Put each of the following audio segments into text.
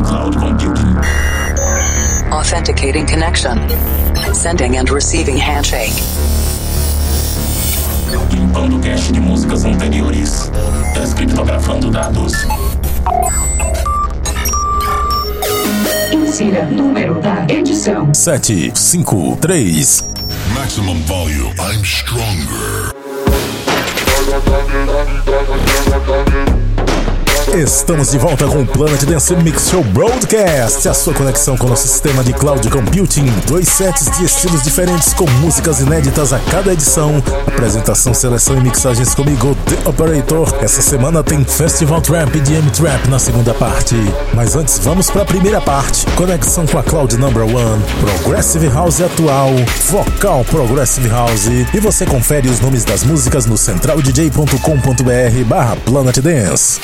cloud computing. Authenticating connection. Sending and receiving handshake. Limpando cache de músicas anteriores. Descriptografando dados. Insira número da edição: 753. Maximum volume. I'm stronger. Estamos de volta com o Planet Dance Mix Show Broadcast, a sua conexão com o nosso sistema de cloud computing. 2 sets de estilos diferentes com músicas inéditas a cada edição. Apresentação, seleção e mixagens comigo, The Operator. Essa semana tem Festival Trap e DM Trap na segunda parte. Mas antes, vamos para a primeira parte. Conexão com a Cloud Number One, Progressive House atual, Vocal Progressive House. E você confere os nomes das músicas no centraldj.com.br/Planet Dance.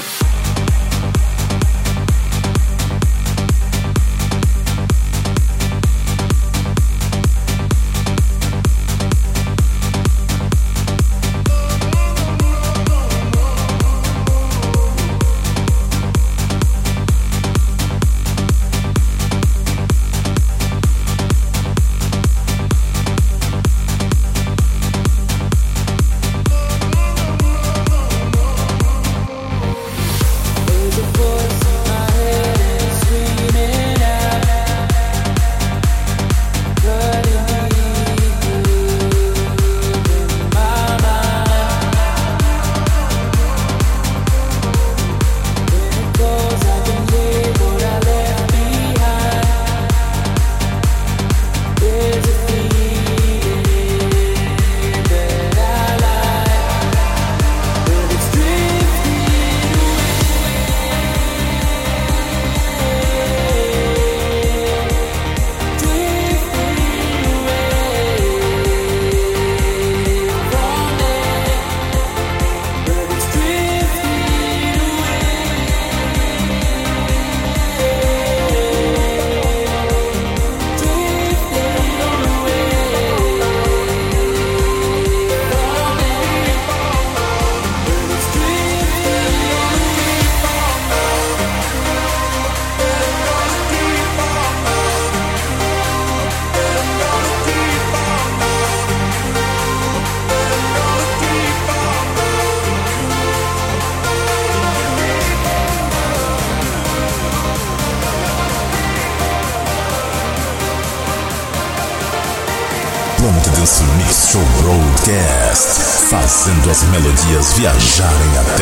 Planet Dance Mix Show Broadcast, fazendo as melodias viajarem até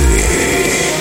você.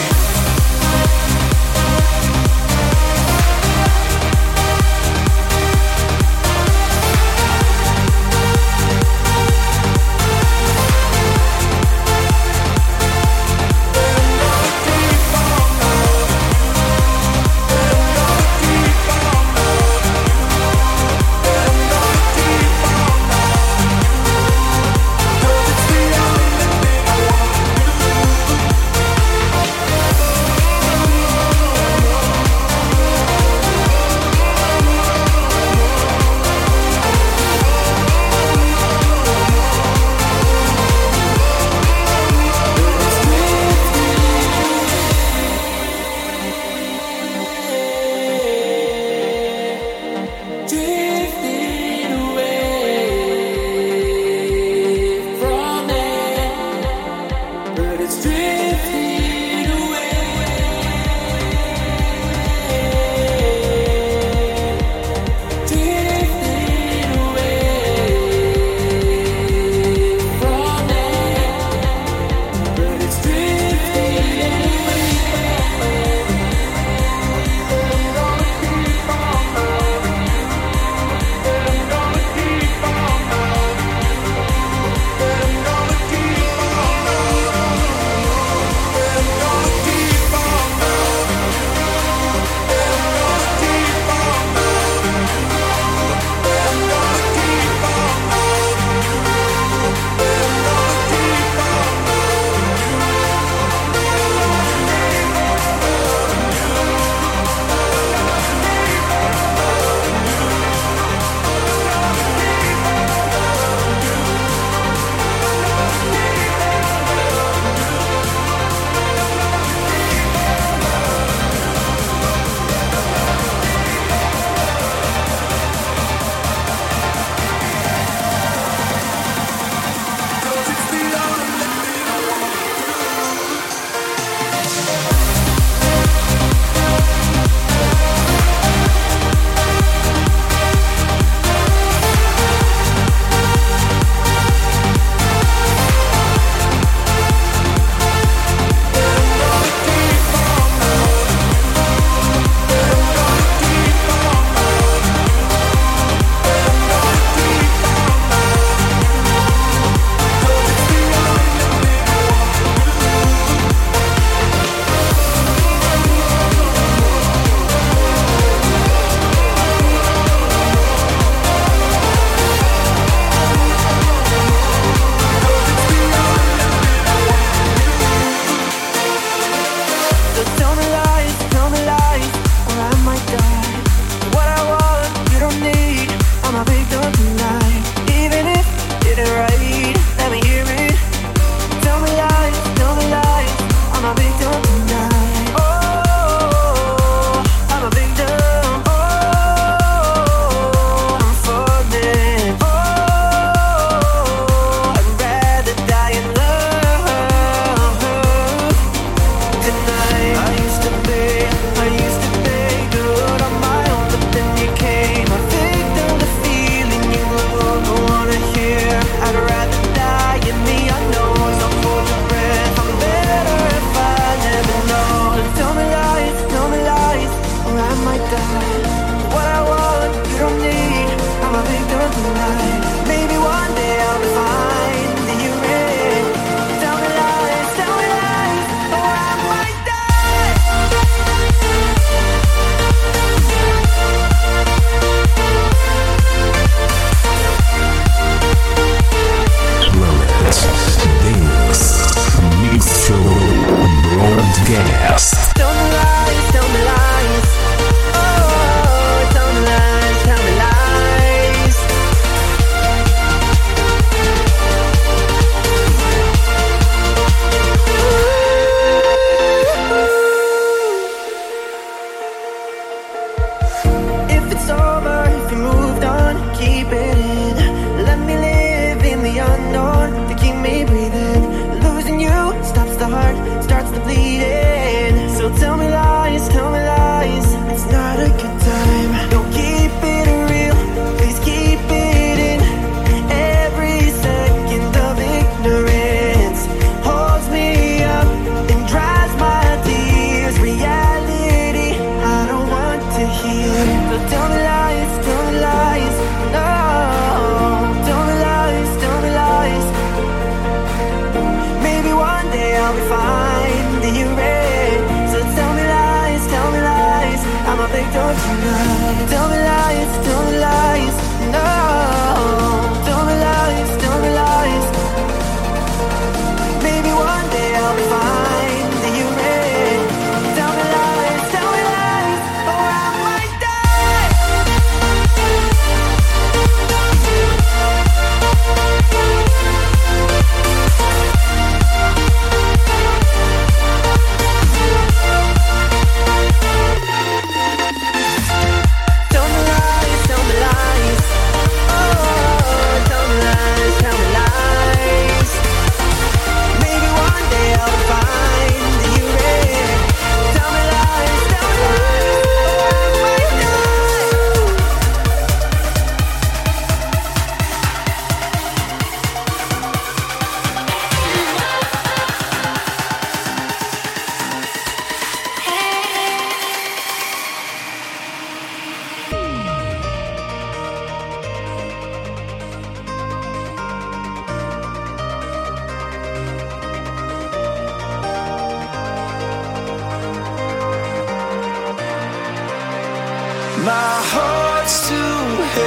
My heart's too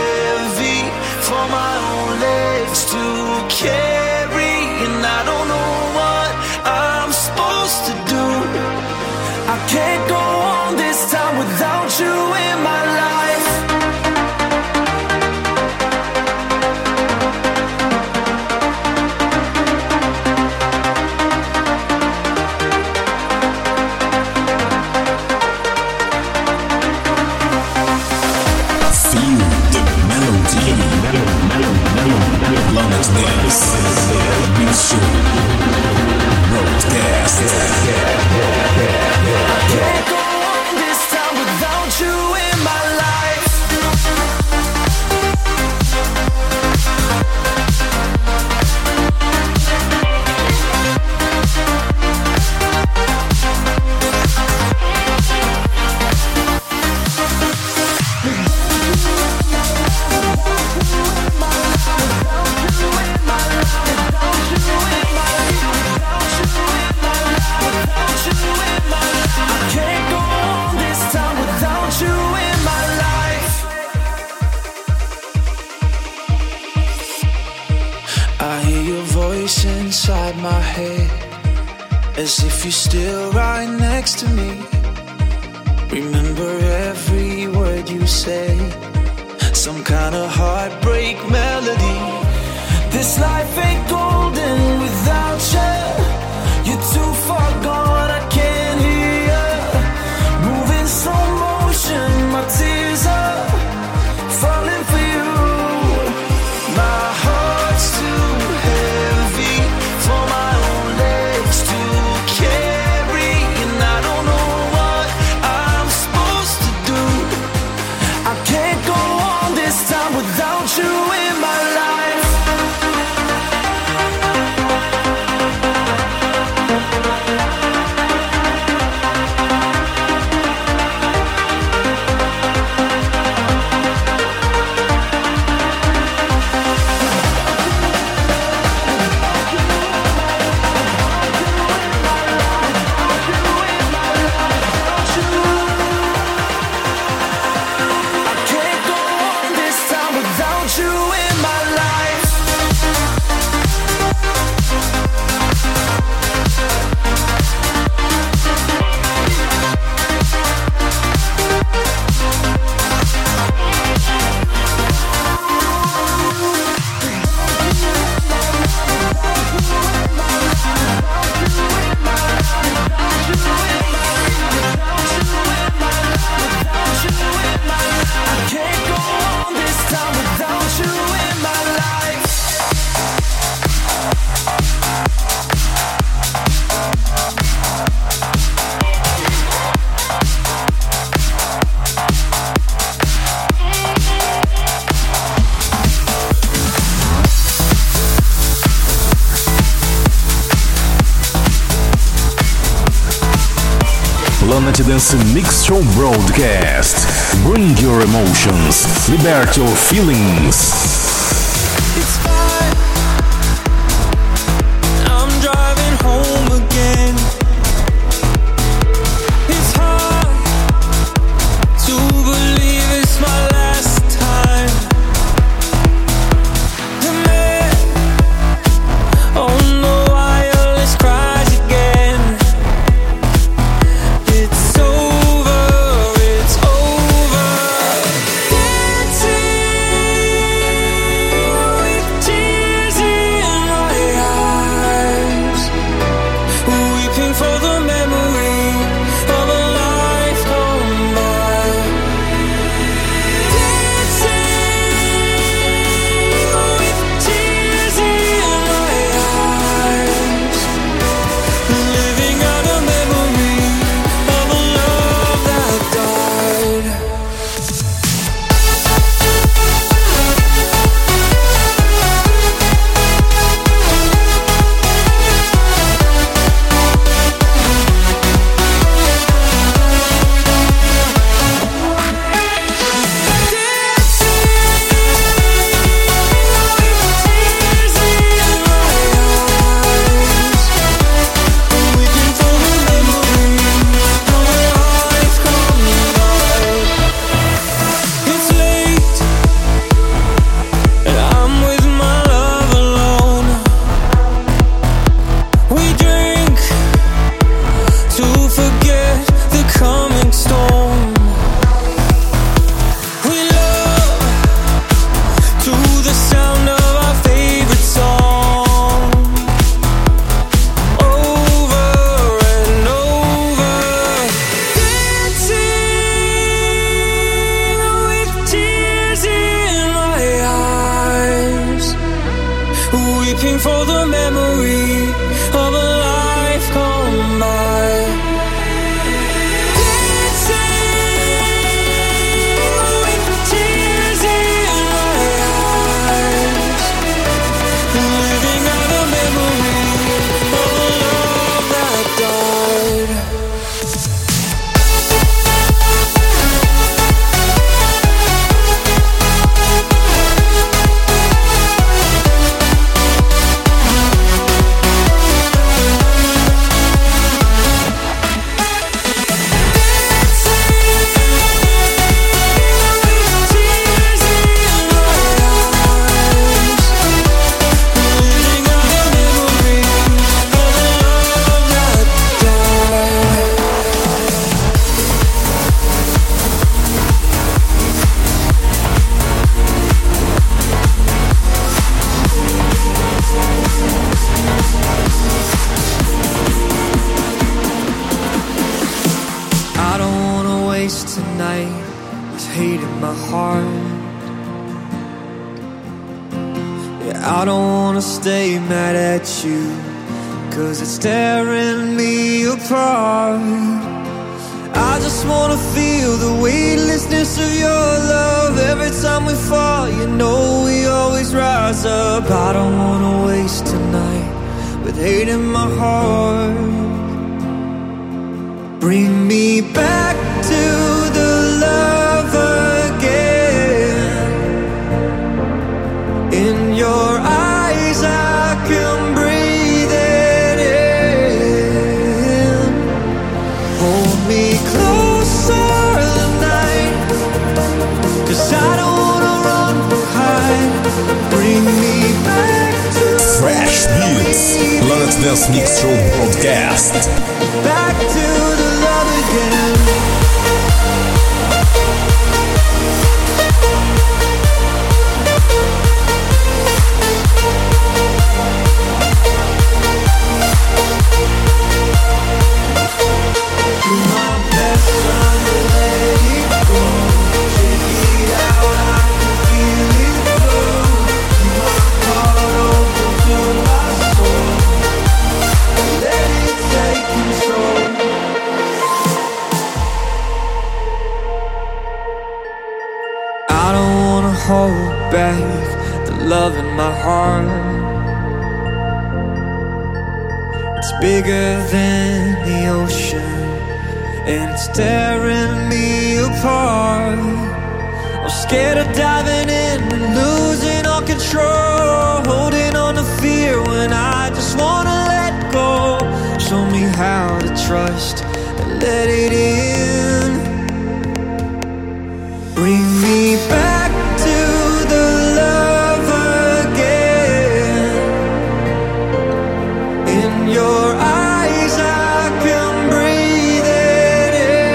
heavy for my own legs to carry, and I don't know what I'm supposed to do. I can't go on this time without you in my life. Feel the melody. Planet Dance. as if you're still right next to me. Remember every word you say, some kind of heartbreak melody. This life ain't golden without you. You're too far gone, I can't hear you. Moving slow motion, my tears are falling for you. My heart's too heavy for my own legs to carry, and I don't know what I'm supposed to do. I can't go on this time without you in my life. Planet Dance Mix Show Broadcast. Bring your emotions, liberate your feelings. It's fine, I'm driving home again. It's hard to believe it's my last time. The man on the wireless cries again. It's over, it's over. Dancing with tears in my eyes, weeping for the memory of a life gone by. Dancing with tears in my eyes, living out a memory of a love that died. It's late, and I'm with my love alone. We drink to forget the coming storm. We love to the sound of our favorite song, over and over. Dancing with tears in my eyes, weeping for the memory of a life gone by. Dancing with tears in my eyes, living out a memory of a love that died. waste tonight with hate in my heart. Yeah, I don't wanna stay mad at you, 'cause it's tearing me apart. I just wanna feel the weightlessness of your love. Every time we fall, you know we always rise up. I don't wanna waste tonight with hate in my heart. Bring me back to the love again. In your eyes I can breathe it in. Hold me closer tonight, 'cause I don't wanna run or hide. Bring me back to Fresh Beats, Planet Dance Mix Show Broadcast. back to the love again. Hold back the love in my heart. It's bigger than the ocean, and it's tearing me apart. I'm scared of diving in and losing all control, holding on to fear when I just wanna let go. Show me how to trust and let it in. Bring me back to the love again. In your eyes I can breathe it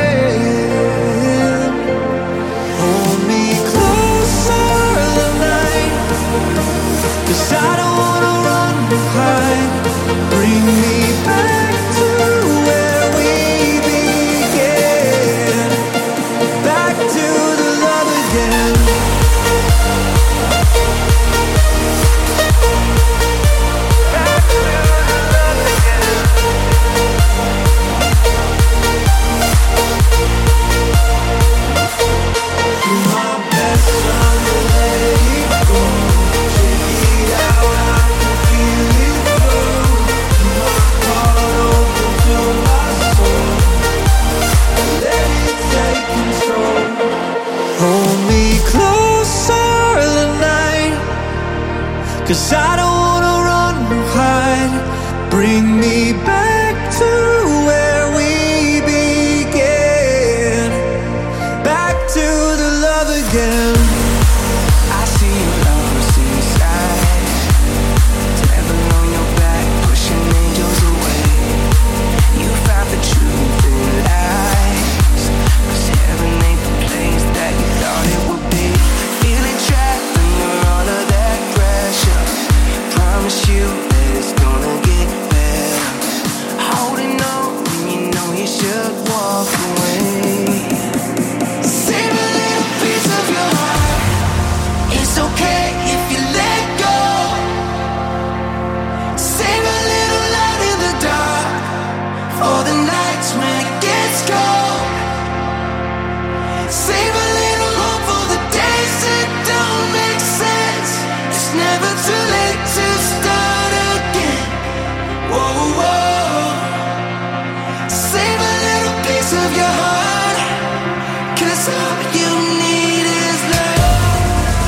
in. Hold me closer tonight, 'cause I don't wanna run or hide. Bring me back to where we began. Back to the love again. Hold me closer tonight, 'cause I don't wanna run or hide. Bring me back to where we began. Back to the love again. I see you lovers in the sky, devil on your back, pushing angels away. You found the truth in lies, 'cause heaven ain't the place that you thought it would be. Feeling trapped under all of that pressure. Promise you that it's gonna get better. Holding on when you know you should walk away. Save a little piece of your heart. It's okay if you let go. Save a little light in the dark for the nights when it gets cold. Save a little hope for the days that don't make sense. It's never too late to start again. Whoa, whoa. Save a little piece of your heart, 'cause all you need is love.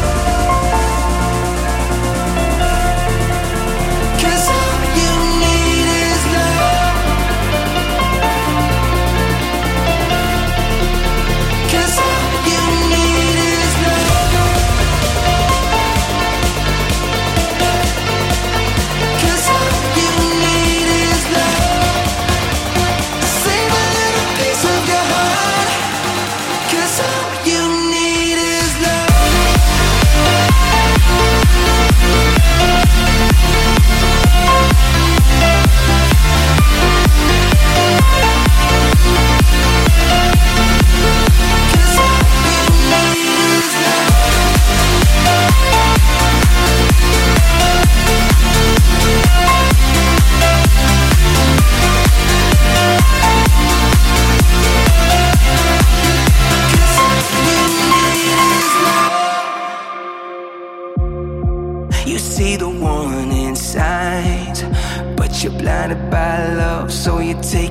'Cause all you need is love. 'Cause all you need is love. 'Cause all you need is love. Save a little piece of your heart, 'cause all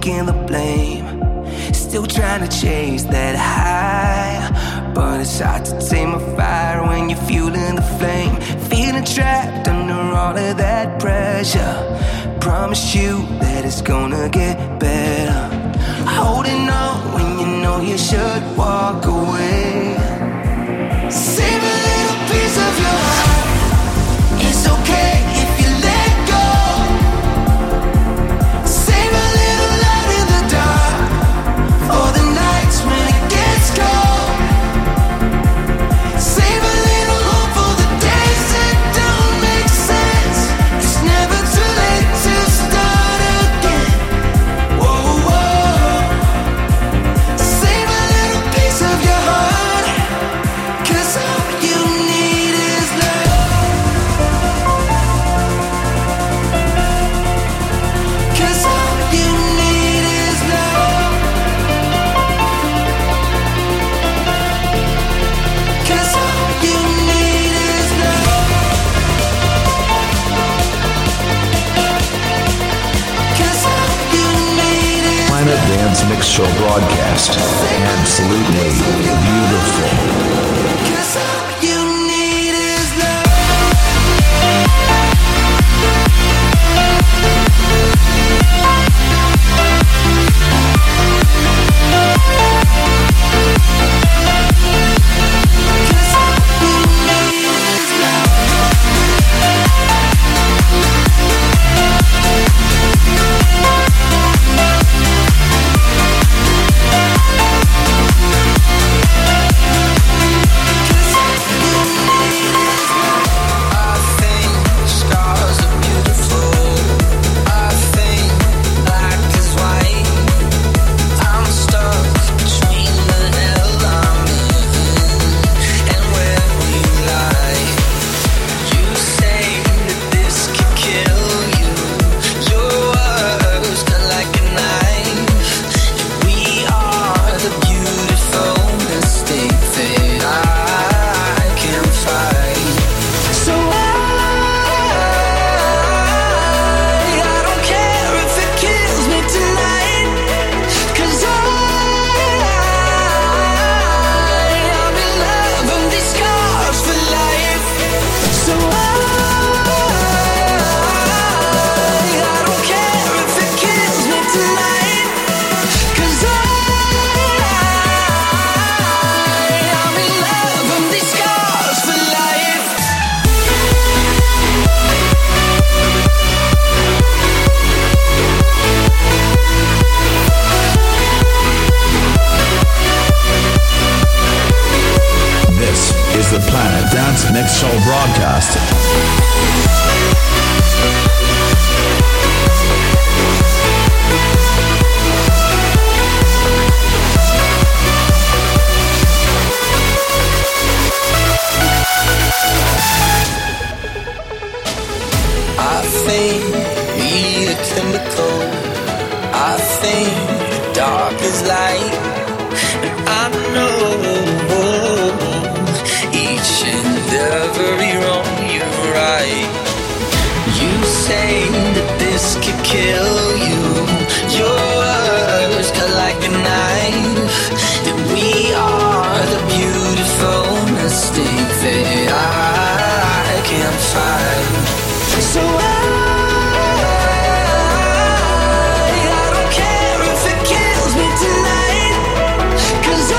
taking the blame. Still trying to chase that high, but it's hard to tame a fire when you're fueling the flame. Feeling trapped under all of that pressure. Promise you that it's gonna get better. Holding on when you know you should walk away. Save a little piece of your heart. It's okay if you let go. Save a little light in the dark for the nights when it gets cold. Save a little hope for the days that don't make sense. It's never too late to start again. Whoa, whoa. Save a little piece of your heart, 'cause all you need is love. 'Cause all you need is love. 'Cause all you need is love. 'Cause all you need is Planet Dance Mix Show broadcast. Absolutely beautiful. 'Cause all you need is love. Mix Show broadcast. I think we are chemical. I think dark is light. And I know each and every wrong you're right. You say that this could kill you. Your words cut like a knife. That we are the beautiful mistake that I can't find. So I don't care if it kills me tonight, 'cause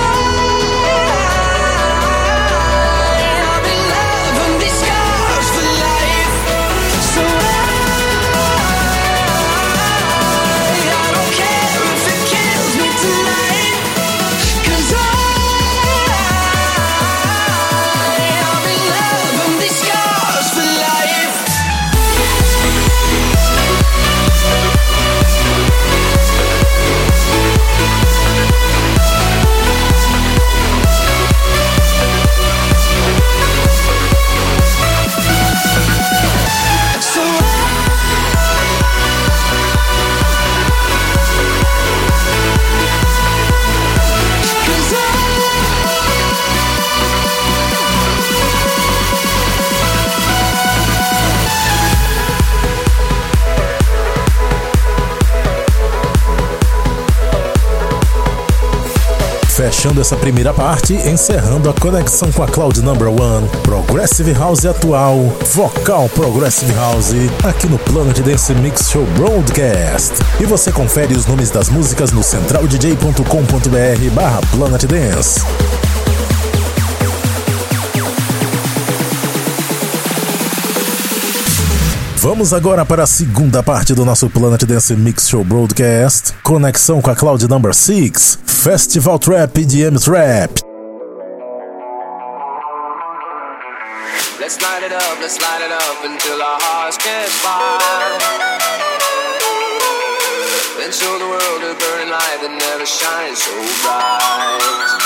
I'll be loving these scars for life. So I fechando essa primeira parte, encerrando a conexão com a Cloud Number One, Progressive House atual, vocal Progressive House, aqui no Planet Dance Mix Show Broadcast. E você confere os nomes das músicas no centraldj.com.br/Planet Dance. Vamos agora para a segunda parte do nosso Planet Dance Mix Show Broadcast, conexão com a Cloud Number 6, Festival Trap e EDM Trap. Let's light it up until our hearts catch fire. Then show the world a burning light that never shines so bright.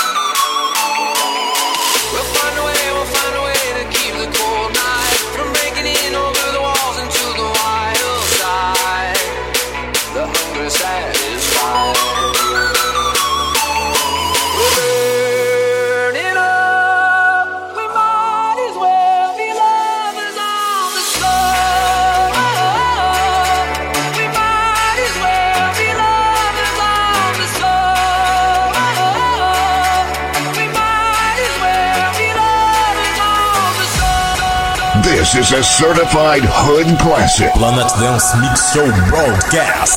We'll find a way to keep the cold night from breaking in over the walls into the wild side. The hunger satisfied. We're burning up. We might as well be lovers on the slow. We might as well be lovers on the slow. We might as well be lovers on the slow. This is a certified hood classic. Planet Dance Mix Show Broadcast.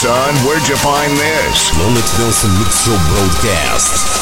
son. Where'd you find this? Planet Dance Mix Show Broadcast.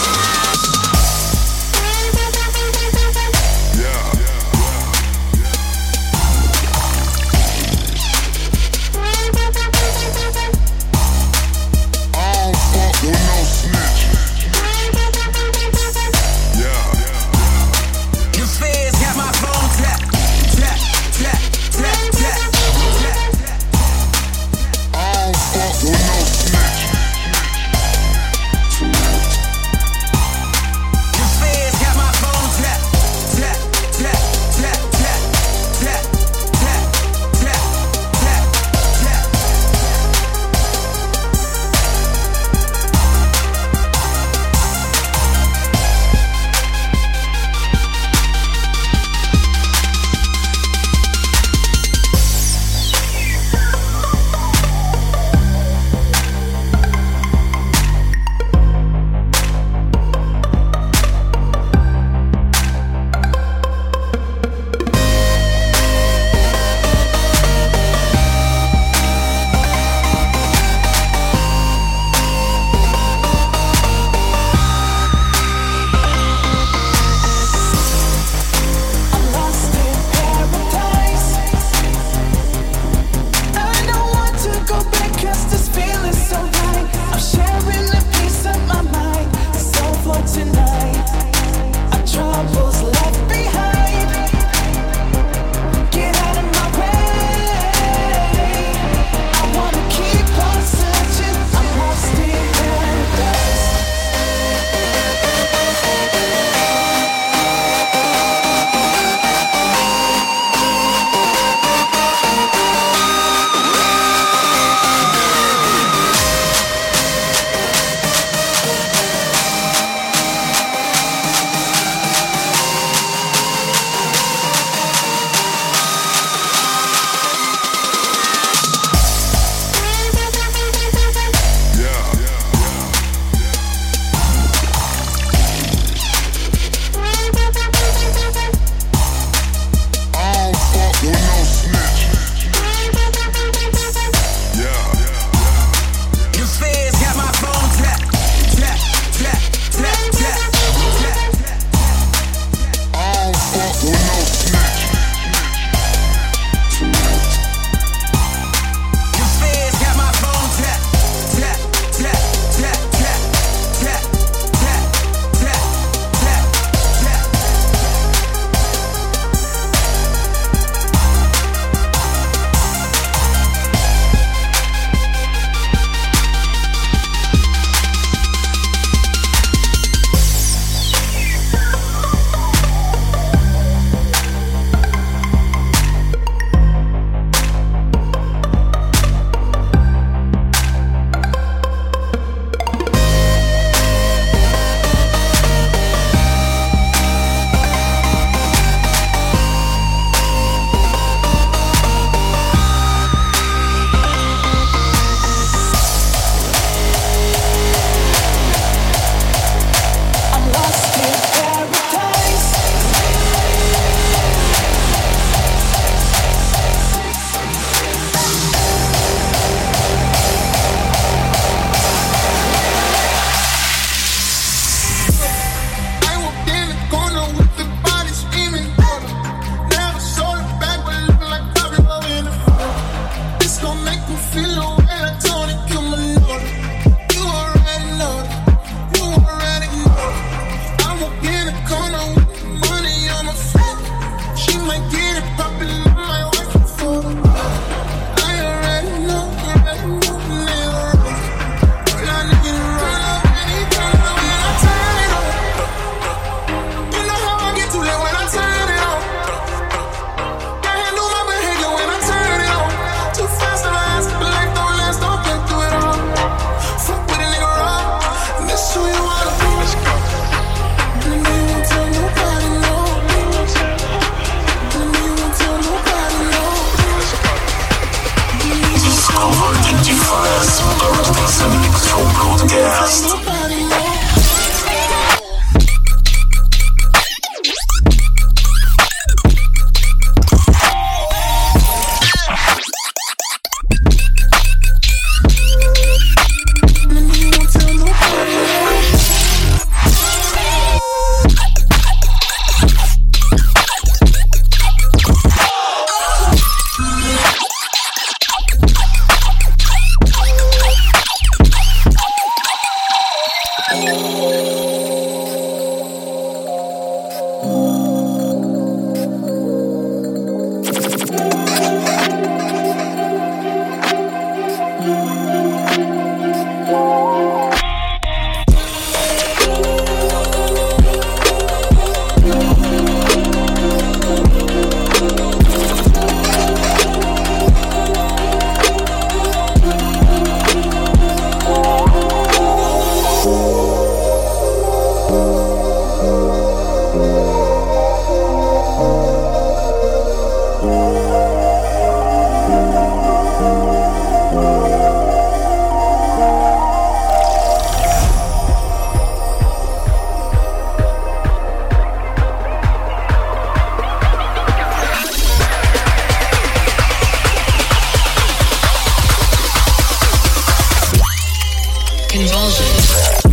convulsions.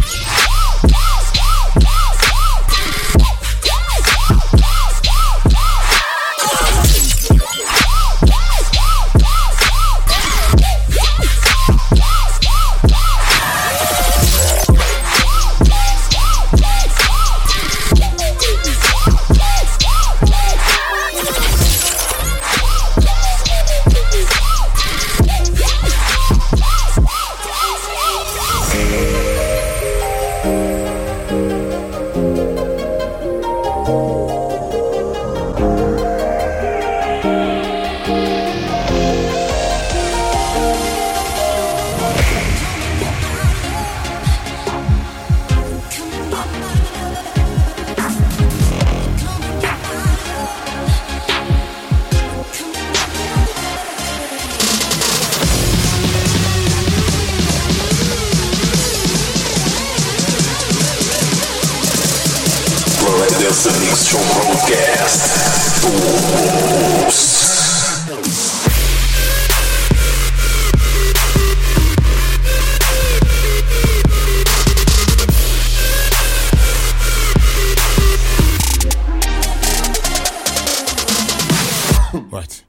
Dance Mix Show Broadcast. What?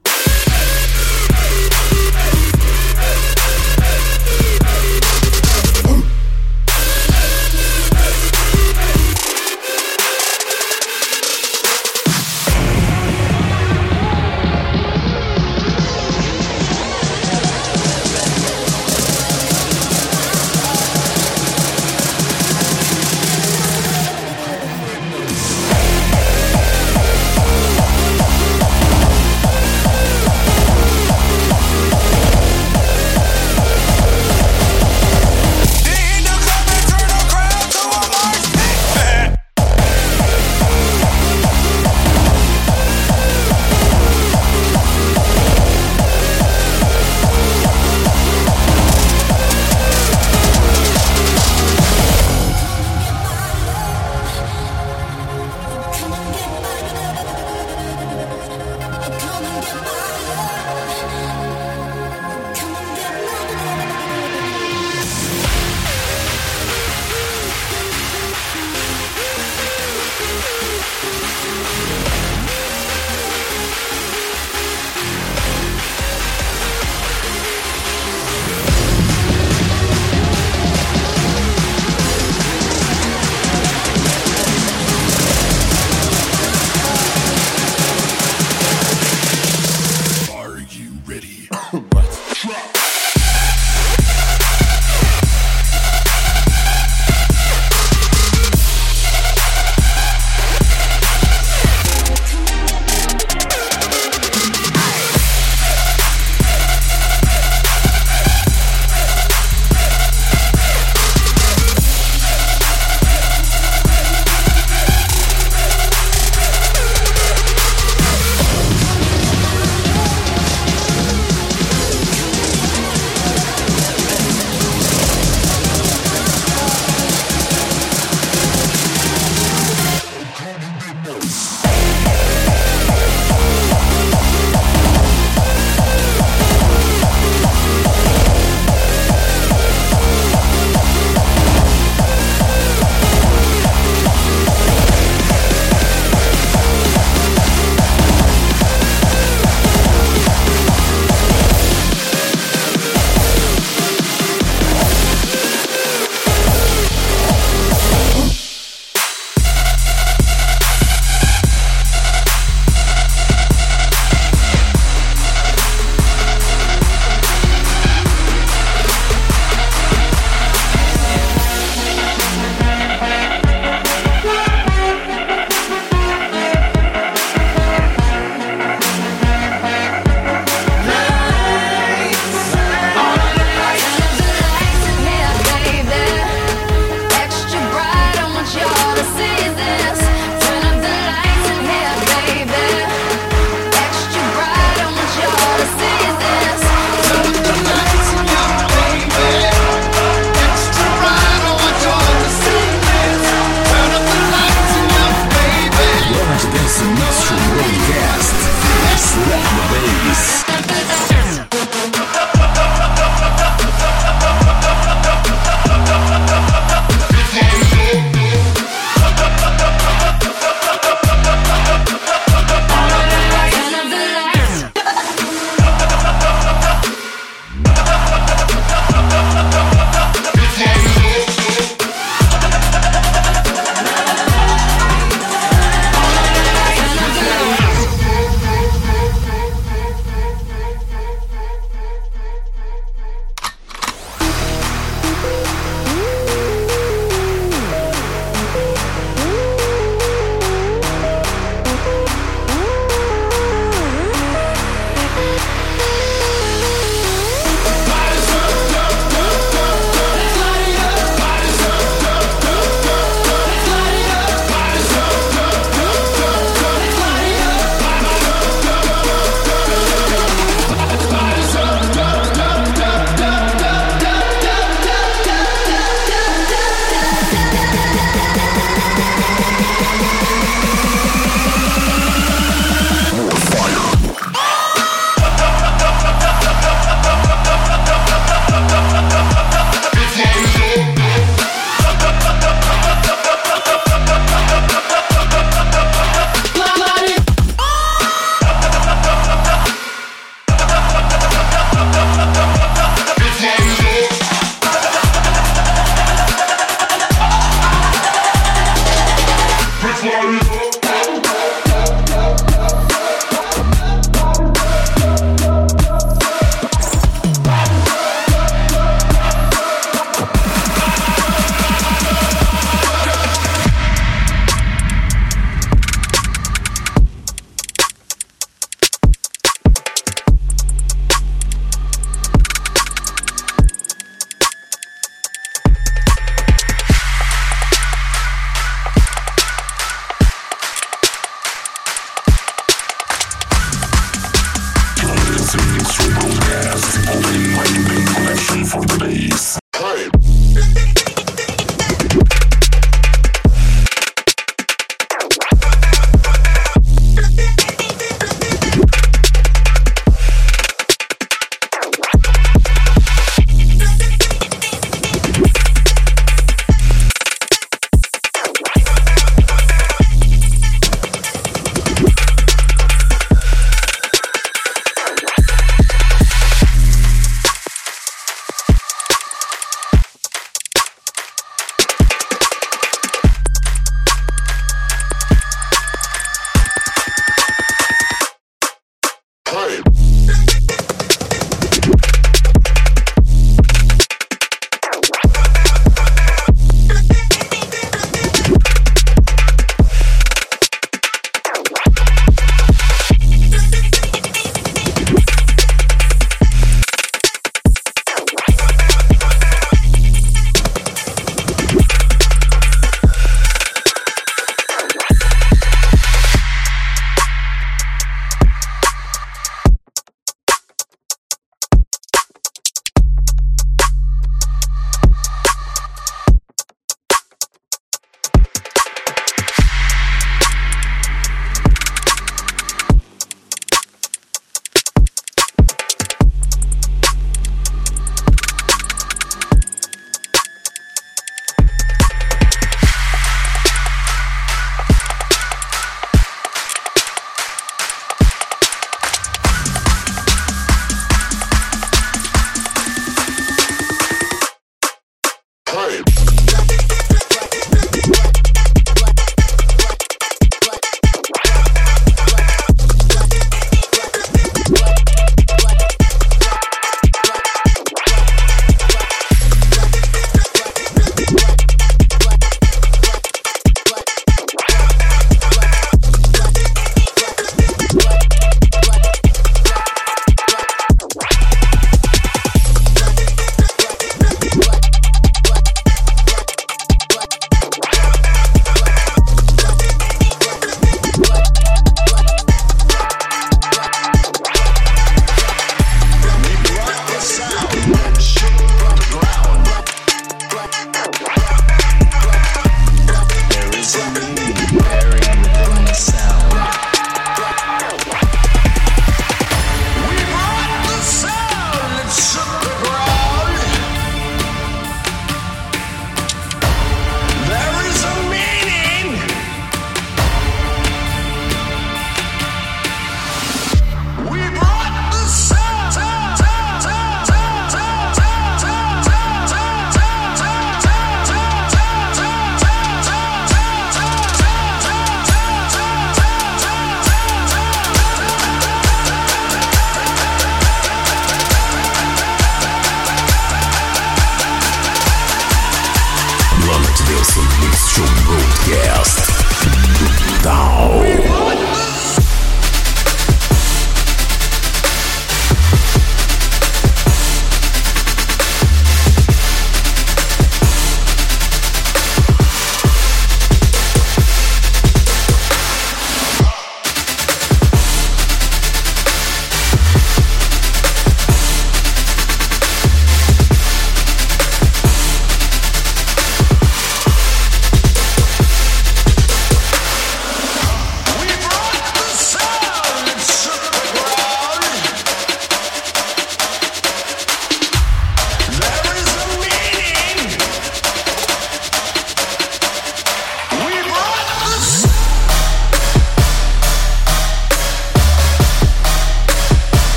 We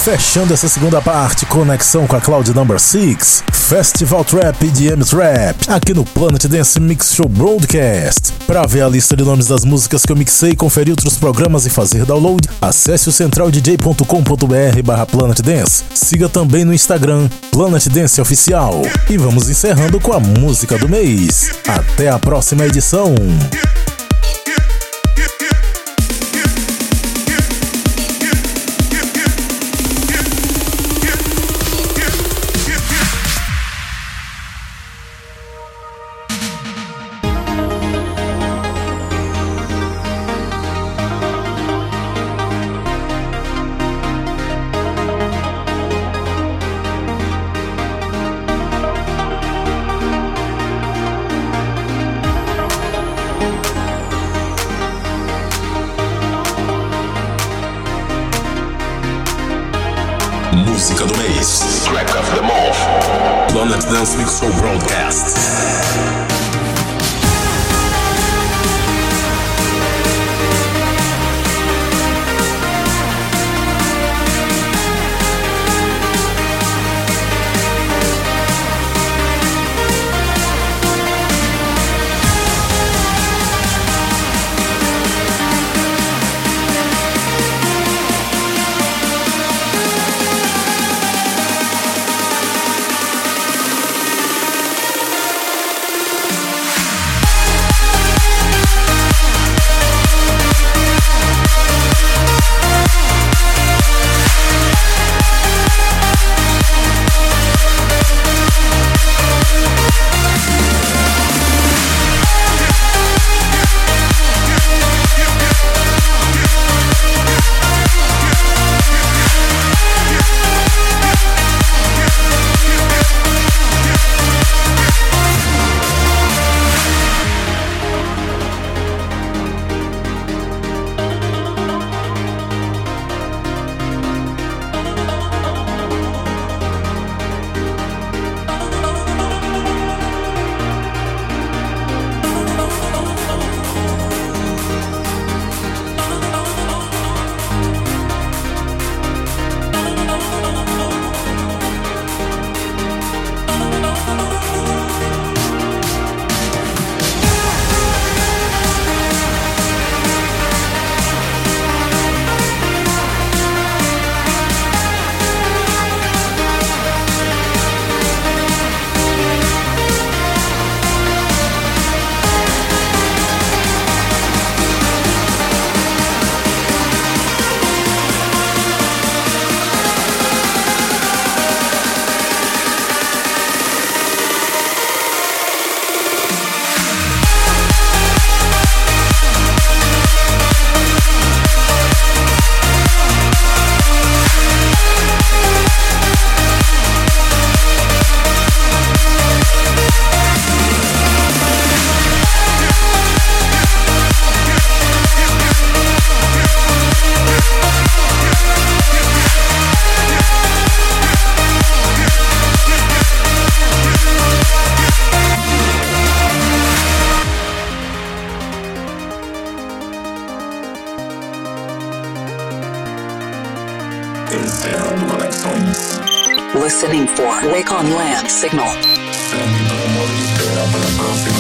Fechando essa segunda parte, conexão com a Cloud Number 6, Festival Trap e DM Trap, aqui no Planet Dance Mix Show Broadcast. Para ver a lista de nomes das músicas que eu mixei, conferir outros programas e fazer download, acesse o centraldj.com.br/Planet Dance. Siga também no Instagram, Planet Dance Oficial. E vamos encerrando com a música do mês. Até a próxima edição. Música do mês. Track of the month. Planet Dance Mix Show Broadcast. Encerrando conexões. Listening for Wake on Land Signal. Terminamos de esperar para a próxima.